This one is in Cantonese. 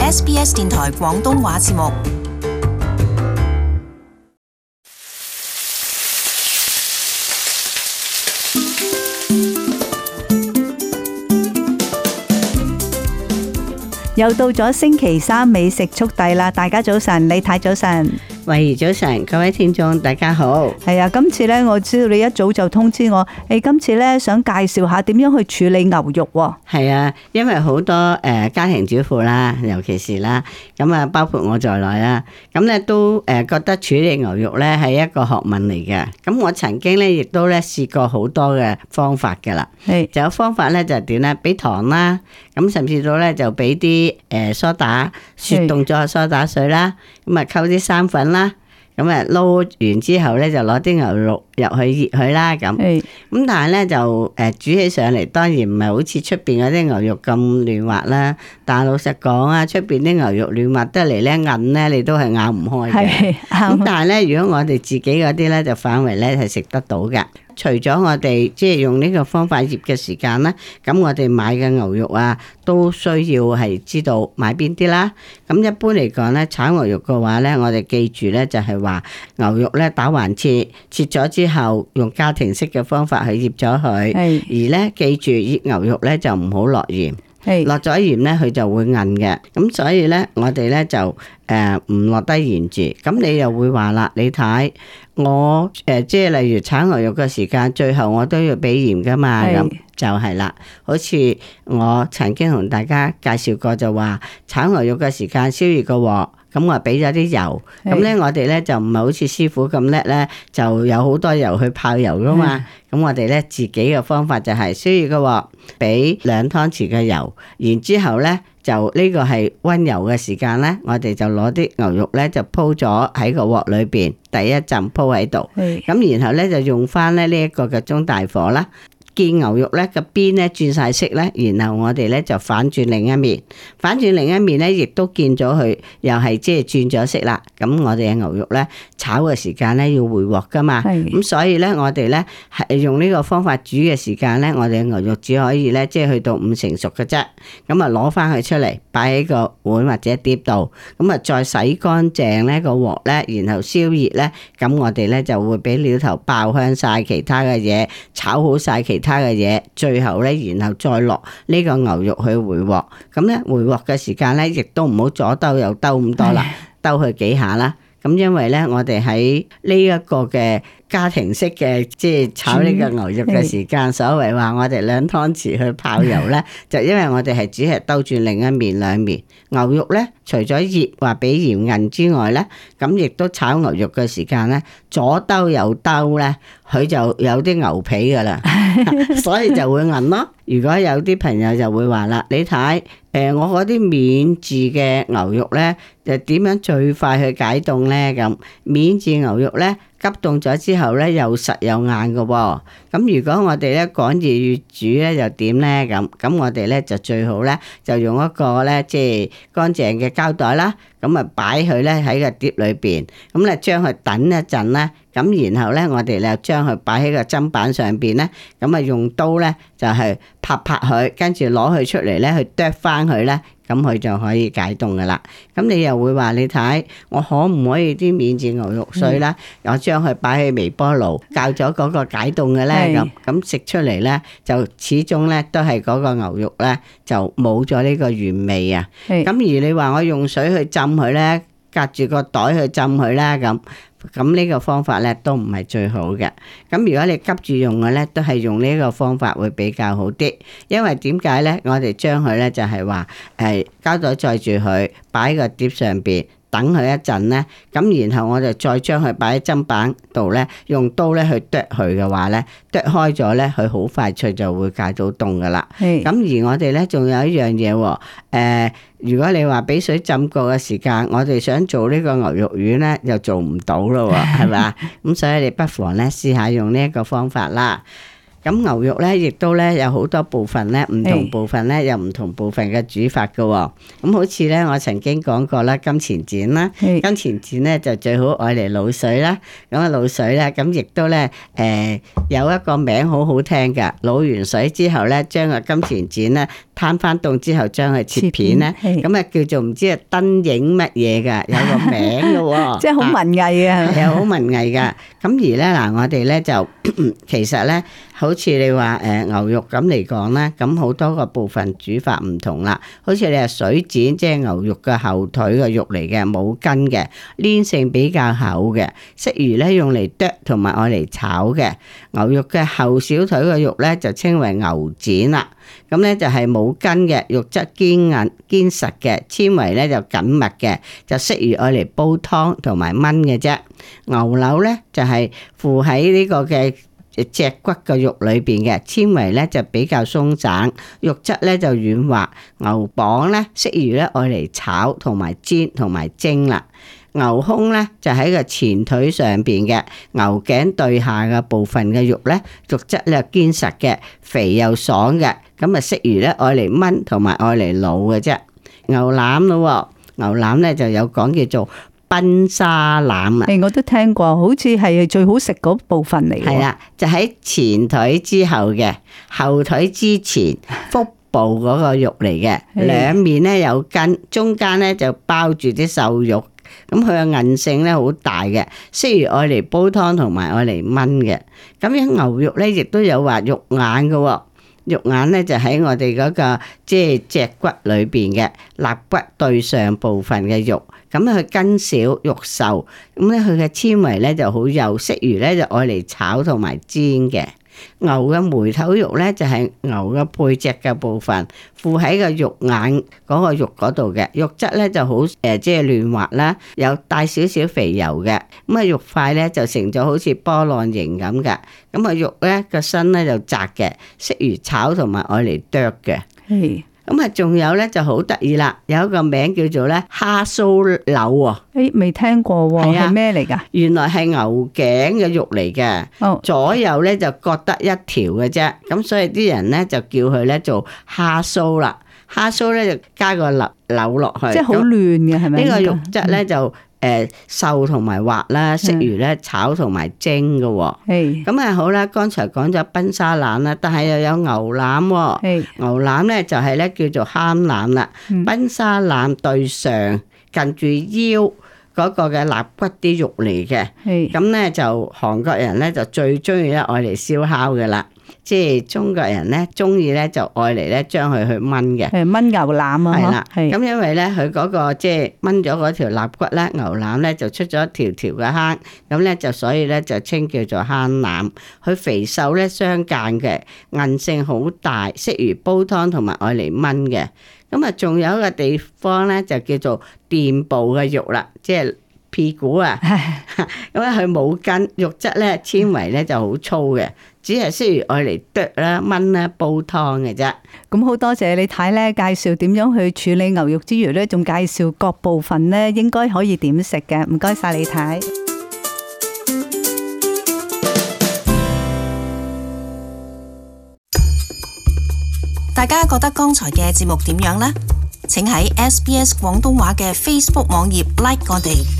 SBS 電台廣東話節目。 又到咗星期三美食速遞啦！大家早晨，李太早晨， 慧兒早晨，各位聽眾大家好。 係啊，今次咧我知道你一早就通知我，今次咧想介紹下點樣去處理牛肉喎。 係啊，因為好多家庭主婦啦，尤其是啦，咁啊包括我在內啦，咁咧都覺得處理牛肉咧係一個學問嚟嘅。咁我曾經咧亦都咧試過好多嘅方法㗎啦。係，就有方法咧就係點咧？俾糖啦，咁甚至到咧就俾啲梳打雪凍咗嘅梳打水啦，咁啊溝啲生粉啦。咁啊撈完之後咧，就攞啲牛肉入去熱佢啦，咁。咁但係咧就煮起上嚟，當然唔係好似出邊嗰啲牛肉咁嫩滑啦。但係老實講啊，出邊啲牛肉嫩滑得嚟咧韌咧，你都係咬唔開嘅。咁但係咧，如果我哋自己嗰啲咧，就反為咧係食得到嘅。除咗我哋即係用呢個方法醃嘅時間咧，咁我哋買嘅牛肉啊，都需要係知道買邊啲啦。咁一般嚟講咧，炒牛肉嘅話咧，我哋記住咧就係話牛肉咧打橫切，切咗之後用家庭式嘅方法去醃咗佢。而咧記住醃牛肉咧就唔好落鹽。落咗鹽咧，佢就會韌嘅。咁所以咧，我哋咧就唔落低鹽住。咁你又會話啦，你睇我即係例如炒牛肉嘅時間，最後我都要俾鹽噶嘛。咁就係啦。好似我曾經同大家介紹過，就話炒牛肉嘅時間燒熱個鑊。咁我俾咗啲油，咁咧我哋咧就唔係好似師傅咁叻咧，就有好多油去泡油噶嘛。咁我哋咧自己嘅方法就係燒熱個鑊，俾2湯匙嘅油，然之後咧就呢個係溫油嘅時間咧，我哋就攞啲牛肉咧就鋪咗喺個鑊裏邊，第一浸鋪喺度，咁然後咧就用翻咧呢一個嘅中大火啦。見牛肉咧個邊咧轉晒色咧，然後我哋咧就反轉另一面，反轉另一面咧亦都見咗佢又係即係轉咗色啦。咁我哋嘅牛肉咧炒嘅時間咧要回鑊噶嘛，咁所以咧我哋咧係用呢個方法煮嘅時間咧，我哋嘅牛肉只可以咧即係去到5成熟嘅啫。咁啊攞翻佢出嚟擺喺個碗或者碟度，咁啊再洗乾淨咧個鑊咧，然後燒熱咧，咁我哋咧就會俾料頭爆香晒其他嘅嘢，炒好晒其他嘅嘢，最後咧，然後再落呢個牛肉去回鑊。咁咧回鑊嘅時間咧，亦都唔好左兜右兜咁多啦，兜佢幾下啦。咁因為咧，我哋喺呢一個嘅家庭式嘅即係炒呢個牛肉嘅時間，所謂話我哋2湯匙去泡油咧，就因為我哋係只係兜轉另一面兩面。牛肉咧，除咗熱話俾鹽韌之外咧，咁亦都炒牛肉嘅時間咧，左兜右兜咧，佢就有啲牛皮噶啦，所以就會韌咯。如果有啲朋友就會話啦，你睇我嗰啲免治嘅牛肉咧，就點樣最快去解凍咧？咁免治牛肉咧，急凍咗之後咧，又實又硬噶喎。咁如果我哋咧趕住要煮咧，又點咧？咁我哋咧就最好咧，就用一個咧即係乾淨嘅膠袋啦。咁啊擺佢咧喺個碟裏邊，咁咧將佢等一陣咧，咁然後咧我哋就將佢擺喺個砧板上邊咧，咁啊用刀咧就係拍拍佢，跟住攞佢出嚟咧去剁翻佢咧，咁佢就可以解凍噶啦。咁你又會話你睇，我可唔可以啲免治牛肉碎啦？我將佢擺喺微波爐較咗嗰個解凍嘅咧，咁食出嚟咧就始終咧都係嗰個牛肉咧就冇咗呢個原味啊。咁而你話我用水去浸佢咧，隔住個袋去浸佢啦，咁呢個方法咧都唔係最好嘅。咁如果你急住用嘅咧，都係用呢個方法會比較好啲。因為點解咧？我哋將佢咧就係話膠袋載住佢，擺喺個碟上邊。等佢一陣咧，咁然後我就再將佢擺喺砧板度咧，用刀咧去剁佢嘅話咧，剁開咗咧，佢好快脆就會解到凍噶啦。咁而我哋咧仲有一樣嘢喎，如果你話俾水浸過嘅時間，我哋想做呢個牛肉丸咧，又做唔到咯喎，係咪？咁所以你不妨咧試下用呢一個方法啦。咁牛肉咧，亦都咧有好多部分咧，唔同部分咧有唔同部分嘅煮法噶。咁好似咧，我曾經講過啦，金錢剪啦，金錢剪咧就最好愛嚟滷水啦。咁啊滷水咧，咁亦都咧有一個名好好聽噶。滷完水之後咧，將個金錢剪咧攤翻凍之後將佢切片咧，咁啊叫做唔知係燈影乜嘢㗎，有個名㗎喎， 即係好文藝啊， 係好文藝㗎。咁而咧嗱，我哋咧就其實咧，好似你話牛肉咁嚟講咧，咁好多個部分煮法唔同啦。好似你係水剪，即係牛肉嘅後腿嘅肉嚟嘅，冇筋嘅，黏性比較厚嘅，適宜咧用嚟剁同埋愛嚟炒嘅。牛肉嘅後小腿嘅肉咧就稱為牛展啦。咁咧就係冇筋嘅，肉質堅硬堅實嘅，纖維咧就緊密嘅，就適宜愛嚟煲湯同埋燜嘅啫。牛柳咧就係附喺呢個嘅脊骨嘅肉裏邊嘅，纖維咧就比較鬆散，肉質咧就軟滑。牛膀咧適宜咧愛嚟炒同埋煎同埋蒸啦。牛胸咧就喺個前腿上邊嘅，牛頸對下嘅部分嘅肉咧，肉質咧堅實嘅，肥又爽嘅，咁啊適宜咧愛嚟燜同埋愛嚟滷嘅啫。牛腩咯，牛腩咧就有講叫做賓沙腩啊， 我都聽過，好似係最好食嗰部分嚟。 係啦，就喺前腿之後嘅，後腿之前腹部嗰個肉嚟嘅，兩面咧有筋，中間咧就包住啲瘦肉。咁佢嘅韌性咧好大嘅，適宜愛嚟煲湯同埋愛嚟燜嘅。咁樣牛肉咧亦都有話肉眼嘅，肉眼咧就喺我哋嗰個即係脊骨裏邊嘅肋骨對上部分嘅肉。咁佢筋少肉瘦，咁咧佢嘅纖維咧就好幼，適宜咧就愛嚟炒同埋煎嘅。牛嘅梅頭肉咧就係牛嘅背脊嘅部分，附喺個肉眼嗰個肉嗰度嘅，肉質咧就好即係嫩滑啦，有帶少少肥油嘅，咁啊肉塊咧就成咗好似波浪形咁嘅，咁啊肉咧個身咧就窄嘅，適宜炒同埋愛嚟剁嘅。咁啊，仲有咧就好得意啦，有一個名叫做咧蝦酥柳喎。 未聽過喎，係咩嚟㗎？ 原來係牛頸嘅肉嚟嘅，左右咧就各得一條嘅啫。咁所以啲人咧就叫佢咧做蝦酥啦。蝦酥咧就加個柳落去， 即係好嫩嘅，係咪？ 呢個肉質咧就瘦同埋滑啦，適宜咧炒同埋蒸嘅。咁啊好啦，剛才講咗賓沙腩啦，但係又有牛腩喎。牛腩咧就係咧叫做慳腩啦。賓沙腩對上近住腰嗰個嘅肋骨啲肉嚟嘅。咁咧就韓國人咧就最中意咧愛嚟燒烤嘅啦。即係中國人咧，中意咧就愛嚟咧將佢去燜嘅， 燜牛腩啊， 係啦。咁因為咧佢嗰個即係燜咗嗰條肋骨咧，牛腩咧就出咗一條條嘅坑，咁咧就所以咧就稱叫做慳腩。佢肥瘦咧相間嘅，韌性好大，適宜煲湯同埋愛嚟燜嘅。咁啊，仲有一個地方咧就叫做臀部嘅肉啦，即係屁股啊。咁咧佢冇筋，肉質咧纖維咧就好粗嘅。只係適宜愛嚟剁啦、燜啦、煲湯嘅啫。 咁好多謝你太咧介紹點樣去處理牛肉之餘咧，仲介紹各部分咧應該可以點食嘅。唔該晒你太。 大家覺得剛才嘅節目點樣呢？請喺SBS 廣東話嘅 Facebook 網頁 like 我哋。